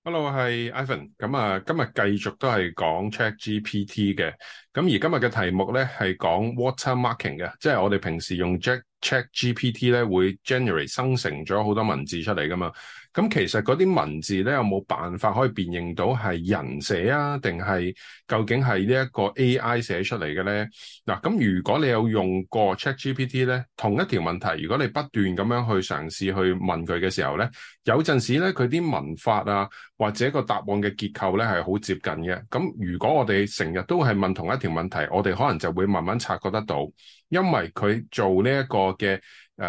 Hello，係 Ivan。今日繼續都係講 ChatGPT 嘅。咁而今日嘅題目咧係講 watermarking 嘅，即係我哋平時用 ChatGPT 咧會 generate 生成咗好多文字出嚟噶嘛。咁其實嗰啲文字咧有冇辦法可以辨認到係人寫啊，定係究竟係呢一個 AI 寫出嚟嘅咧？嗱，咁如果你有用過 ChatGPT 咧，同一條問題，如果你不斷咁樣去嘗試去問佢嘅時候咧，有陣時咧佢啲文法啊，或者個答案嘅結構咧係好接近嘅。咁如果我哋成日都係問同一條問題，我哋可能就會慢慢察覺得到，因為佢做呢一個嘅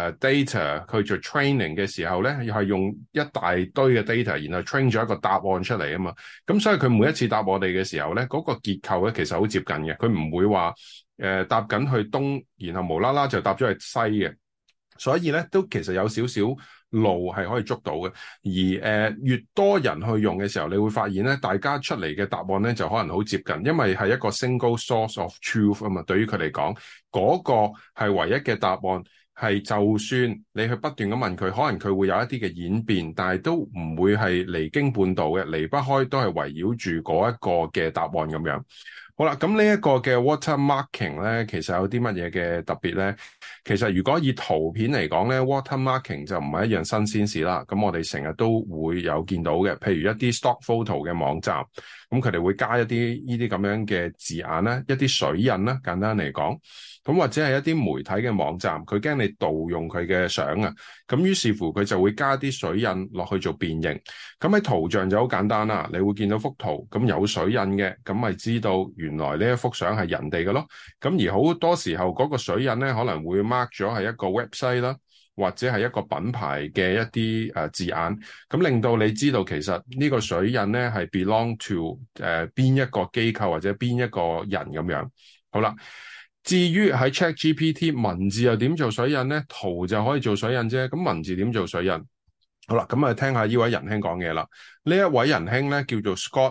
data 去做 training 嘅時候咧，又係用一大堆嘅 data，然後 train 咗一個答案出嚟啊嘛。咁所以佢每一次答我哋嘅時候咧，嗰個結構咧其實好接近嘅，佢唔會話答緊去東，然後無啦啦就答咗去西嘅。所以咧都其實有少少路係可以捉到嘅，而越多人去用嘅時候，你會發現咧，大家出嚟嘅答案咧就可能好接近，因為係一個 single source of truth 啊嘛。對於佢嚟講，嗰個係唯一嘅答案，係就算你去不斷咁問佢，可能佢會有一啲嘅演變，但係都唔會係離經叛道嘅，離不開都係圍繞住嗰一個嘅答案咁樣。好啦，咁呢一個嘅 watermarking 咧，其實有啲乜嘢嘅特別咧？其實如果以圖片嚟講咧，watermarking 就唔係一樣新鮮事啦。咁我哋成日都會有見到嘅，譬如一啲 stock photo 嘅網站，咁佢哋會加一啲呢啲咁樣嘅字眼啦，一啲水印啦，簡單嚟講。咁或者係一啲媒體嘅網站，佢驚你盜用佢嘅相啊，咁於是乎佢就會加啲水印落去做辨認。咁喺圖像就好簡單啦，你會見到幅圖，咁有水印嘅，咁咪知道原來呢一幅相係人哋嘅咯。咁而好多時候嗰個水印咧，可能會 mark 咗係一個 website 啦，或者係一個品牌嘅一啲字眼，咁令到你知道其實呢個水印咧係 belong to 邊一個機構或者邊一個人咁樣。好啦。至於喺 ChatGPT 文字又點做水印咧？圖就可以做水印啫。咁文字點做水印？好啦，咁啊聽下呢位仁兄講嘢啦。呢一位仁兄咧叫做 Scott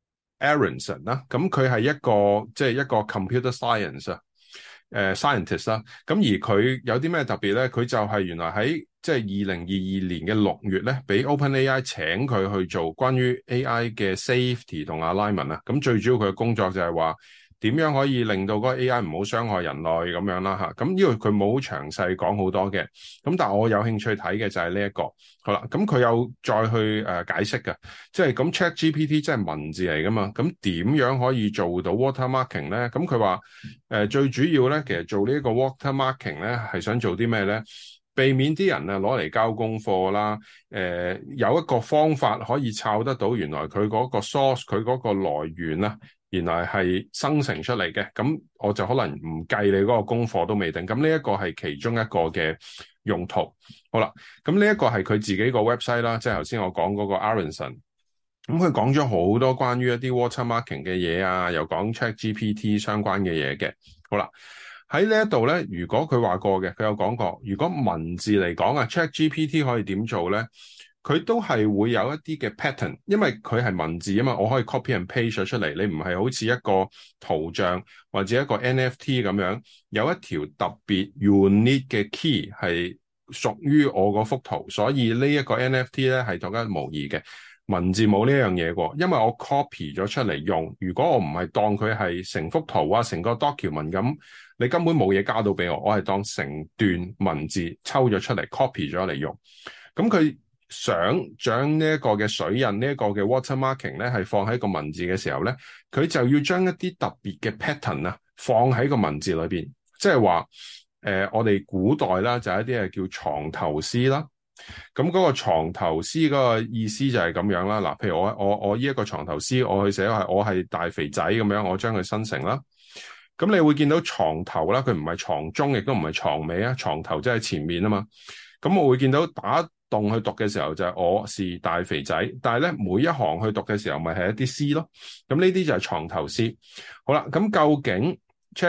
Aronson 啦。咁佢係一個即係一個 computer science 啊，scientist 啦。咁而佢有啲咩特別咧？佢就係原來喺即係2022年嘅6月咧，俾 OpenAI 請佢去做關於 AI 嘅 safety 同 alignment 啊。咁最主要佢嘅工作就係話，點樣可以令到嗰個 AI 唔好傷害人類咁樣啦嚇？咁呢個佢冇好詳細講好多嘅，咁但係我有興趣睇嘅就係呢一個。好啦，咁佢有再去解釋嘅，即係咁 ChatGPT 即係文字嚟噶嘛，咁點樣可以做到 watermarking 咧？咁佢話最主要咧，其實做呢一個 watermarking 咧係想做啲咩咧？避免啲人啊攞嚟交功課啦，有一個方法可以抄得到原來佢嗰個 source 佢嗰個來源啦。原來係生成出嚟嘅，咁我就可能唔計你嗰個功課都未定。咁呢一個係其中一個嘅用途。好啦，咁呢一個係佢自己個 website 啦，即係頭先我講嗰個 Aronson。咁佢講咗好多關於一啲 watermarking 嘅嘢啊，又講 ChatGPT 相關嘅嘢嘅。好啦，喺呢一度咧，如果佢話過嘅，佢有講過，如果文字嚟講啊，ChatGPT 可以點做咧？佢都係會有一啲嘅 pattern，因為佢係文字啊嘛，我可以 copy and paste 咗出嚟。你唔係好似一個圖像或者一個 NFT 咁樣，有一條特別 unique 嘅 key 係屬於我嗰幅圖，所以呢一個 NFT 咧係獨一無二嘅。文字冇呢樣嘢喎，因為我 copy 咗出嚟用。如果我唔係當佢係成幅圖啊，成個 document 咁，你根本冇嘢加到俾我。我係當成段文字抽咗出嚟 copy 咗嚟用。咁佢想將呢一個嘅水印，呢一個嘅 watermarking 咧，係放喺個文字嘅時候咧，佢就要將一啲特別嘅 pattern 啊放喺個文字裏邊，即係話我哋古代啦，就係一啲係叫藏頭詩啦。咁嗰個藏頭詩嗰個意思就係咁樣啦。嗱，譬如我呢一個藏頭詩，我去寫係我係大肥仔咁樣，我將佢生成啦。咁你會見到藏頭啦，佢唔係藏中，亦都唔係藏尾啊。藏頭即係前面啊嘛。咁我會見到打動去讀嘅時候就係我是大肥仔，但係咧每一行去讀嘅時候咪係一啲詩咯。咁呢啲就係藏頭詩。好啦，咁究竟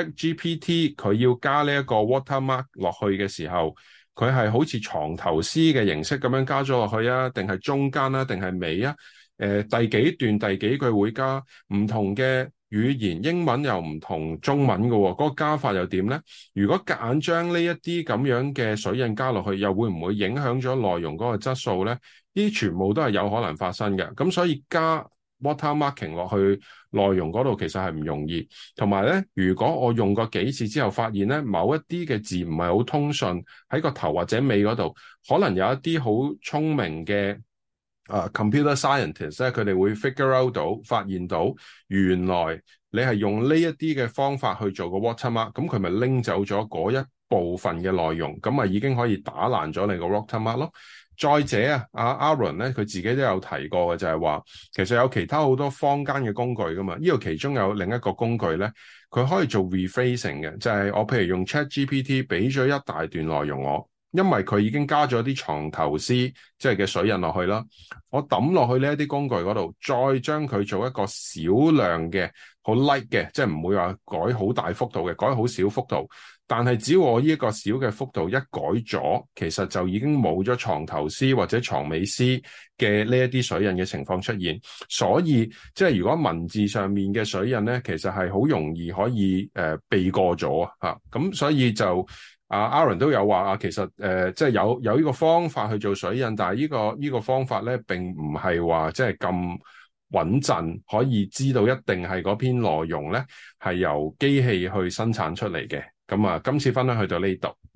ChatGPT 佢要加呢一個 watermark 落去嘅時候，佢係好似藏頭詩嘅形式咁樣加咗落去啊，定係中間啊，定係尾啊？第幾段第幾句會加唔同嘅語言，英文又唔同中文嘅喎，嗰個加法又點咧？如果夾硬將呢一啲咁樣嘅水印加落去，又會唔會影響咗內容嗰個質素咧？ 呢啲全部都係有可能發生嘅。咁所以加 watermarking 落去內容嗰度其實係唔容易。同埋咧，如果我用過幾次之後發現咧，某一啲嘅字唔係好通順，喺個頭或者尾嗰度，可能有一啲好聰明嘅computer scientist 咧，佢哋會 figure out 到，發現到原來你係用呢一啲嘅方法去做個 watermark，咁佢咪拎走咗嗰一部分嘅內容，咁咪已經可以打爛咗你個 watermark 咯。再者啊，阿 Aaron 咧，佢自己都有提過嘅，就係話其實有其他好多坊間嘅工具噶嘛，呢度其中有另一個工具咧，佢可以做 rephrasing 嘅，就係我譬如用 ChatGPT 俾咗一大段內容我。因為佢已經加咗啲藏頭詩，即係嘅水印落去啦，我抌落去呢一啲工具嗰度，再將佢做一個少量嘅好 light 嘅，即係唔會話改好大幅度嘅，改好少幅度。但係只要我呢一個小嘅幅度一改咗，其實就已經冇咗藏頭詩或者藏尾詩嘅呢一啲水印嘅情況出現。所以即係如果文字上面嘅水印咧，其實係好容易可以避過咗啊。咁所以就Aaron 都有話其實即係有呢個方法去做水印，但係呢個方法咧並唔係話即係咁穩陣，可以知道一定係嗰篇內容咧係由機器去生產出嚟嘅。咁今次分享去到呢度。